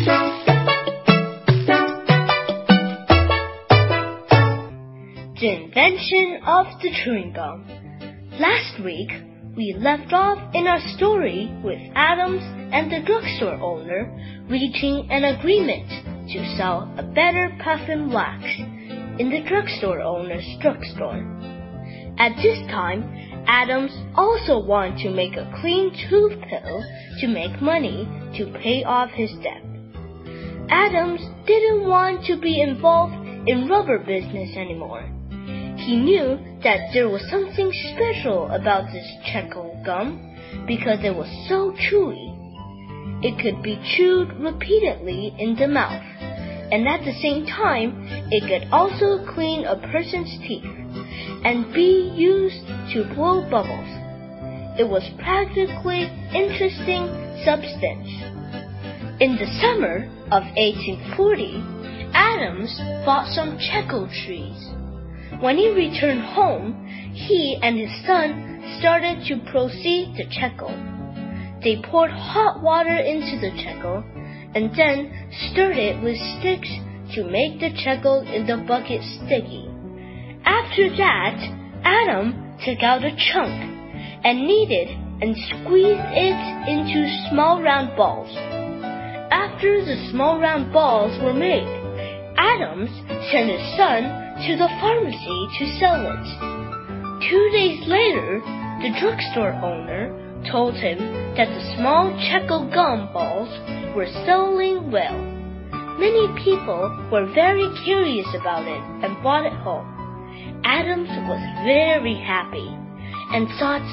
The invention of the chewing gum. Last week, we left off in our story with Adams and the drugstore owner reaching an agreement to sell a better puffin wax in the drugstore owner's drugstore. At this time, Adams also wanted to make a clean tooth pill to make money to pay off his debt. Adams didn't want to be involved in rubber business anymore. He knew that there was something special about this Checkle gum because it was so chewy. It could be chewed repeatedly in the mouth, and at the same time, it could also clean a person's teeth and be used to blow bubbles. It was practically interesting substance. In the summer of 1840, Adams bought some Checkle trees. When he returned home, he and his son started to proceed the Checkle. They poured hot water into the Checkle and then stirred it with sticks to make the Checkle in the bucket sticky. After that, Adam took out a chunk and kneaded and squeezed it into small round balls. After the small round balls were made, Adams sent his son to the pharmacy to sell it. 2 days later, the drugstore owner told him that the small Checkle gum balls were selling well. Many people were very curious about it and bought it home. Adams was very happy and thought,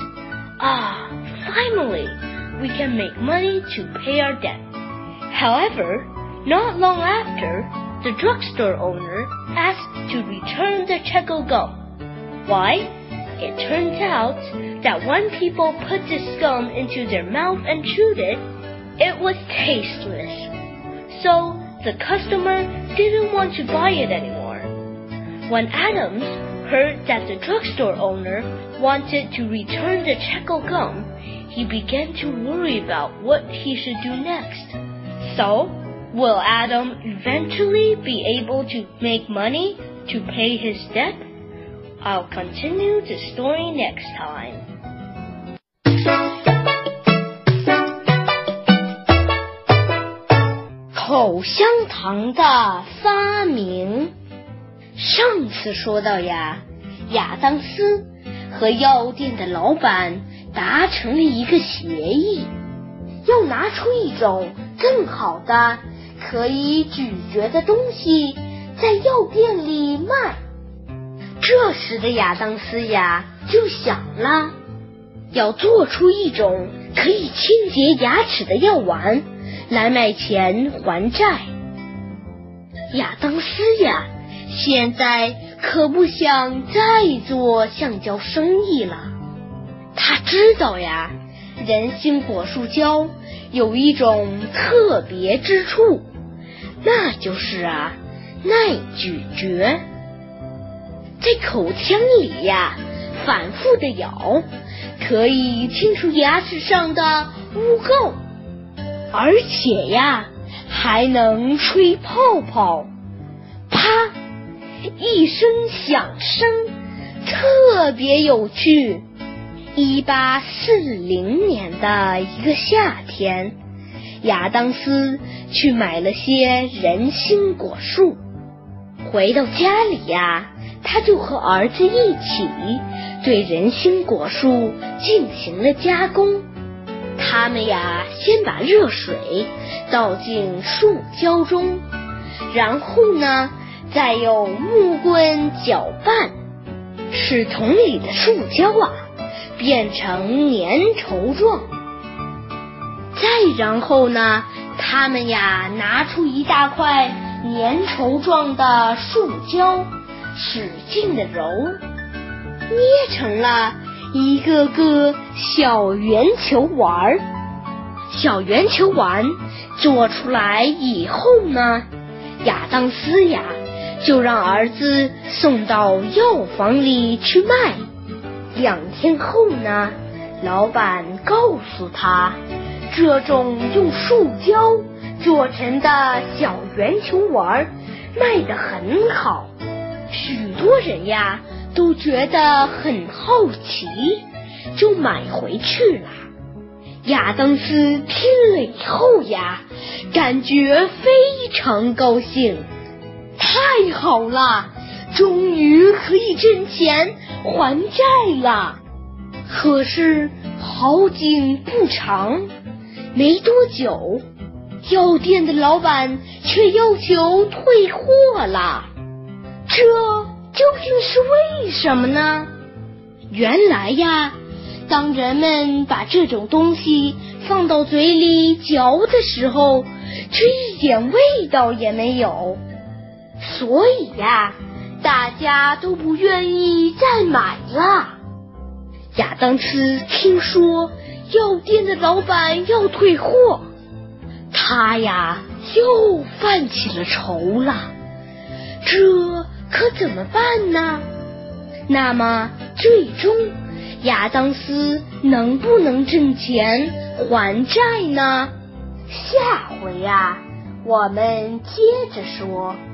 finally, we can make money to pay our debt. However, not long after, the drugstore owner asked to return the Checkle gum. Why? It turns out that when people put this gum into their mouth and chewed it, it was tasteless. So the customer didn't want to buy it anymore. When Adams heard that the drugstore owner wanted to return the Checkle gum, he began to worry about what he should do next. So, will Adam eventually be able to make money to pay his debt? I'll continue the story next time. 口香糖的发明。上次说到呀，亚当斯和药店的老板达成了一个协议，要拿出一种更好的可以咀嚼的东西在药店里卖。这时的亚当斯呀就想了，要做出一种可以清洁牙齿的药丸来卖钱还债。亚当斯呀现在可不想再做橡胶生意了。他知道呀，人心果树胶有一种特别之处，那就是耐咀嚼。在口腔里呀反复的咬，可以清除牙齿上的污垢，而且呀还能吹泡泡，啪一声响声，特别有趣。1840年的一个夏天，亚当斯去买了些人参果树，回到家里呀，他就和儿子一起对人参果树进行了加工。他们呀先把热水倒进树胶中，然后呢再用木棍搅拌，使桶里的树胶变成粘稠状。再然后呢，他们呀拿出一大块粘稠状的树胶，使劲的揉，捏成了一个个小圆球丸。小圆球丸做出来以后呢，亚当斯呀就让儿子送到药房里去卖。2天后呢，老板告诉他，这种用树胶做成的小圆球丸卖得很好，许多人呀都觉得很好奇，就买回去了。亚当斯听了以后呀，感觉非常高兴，太好了，终于可以挣钱还债了。可是好景不长，没多久，药店的老板却要求退货了。这究竟是为什么呢？原来呀，当人们把这种东西放到嘴里嚼的时候，却一点味道也没有，所以呀，大家都不愿意再买了。亚当斯听说药店的老板要退货，他呀又犯起了愁了，这可怎么办呢？那么最终亚当斯能不能挣钱还债呢？下回呀，我们接着说。